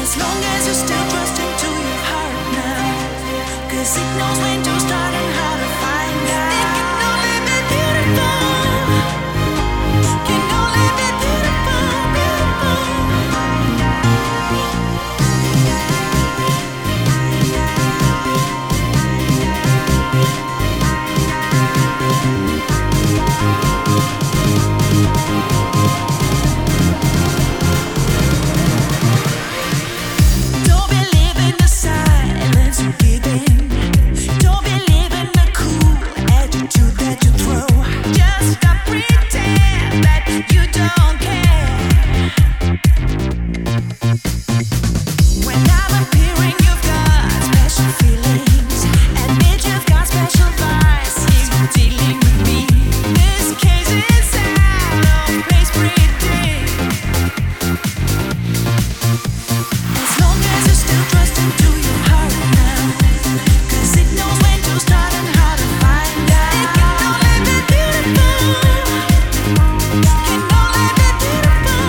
As long as you're still trusting to your heart now, 'cause it knows when to start and how to find out. It can only be beautiful. Can only be beautiful, beautiful. Don't believe in the silence you're giving. Don't believe in the cool attitude that you throw. Just stop pretend that you don't care. When I'm appearing, you've got special feelings. Admit you've got special vibes. You're dealing with me. This case is out of place, pretend. As long as you're still trusting to your heart now, 'cause it knows when to start and how to find out. It can only be beautiful. Can only be beautiful,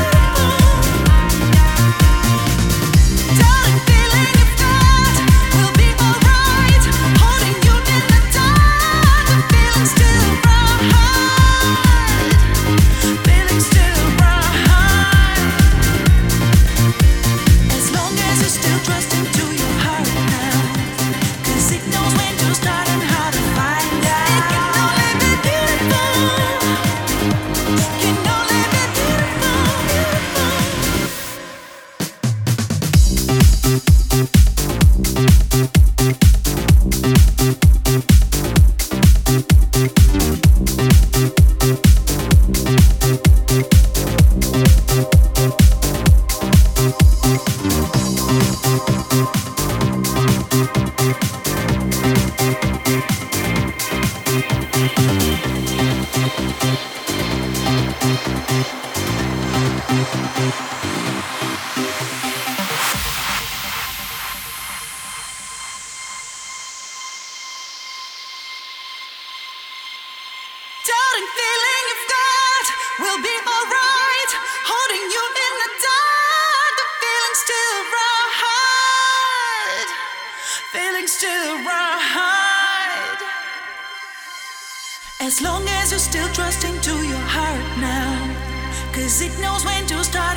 beautiful. Darling, feeling you've got will be alright. Holding you in the dark, the feeling's still right. Feeling's still right. As long as you're still trusting to your heart now, 'cause it knows when to start and how to find out. It can only be beautiful. Can only be beautiful, darling, feeling you've got will be alright. Holding you in the dark, the feeling's still right. Feeling's still right. As long as you're still trusting to your heart now, 'cause it knows when to start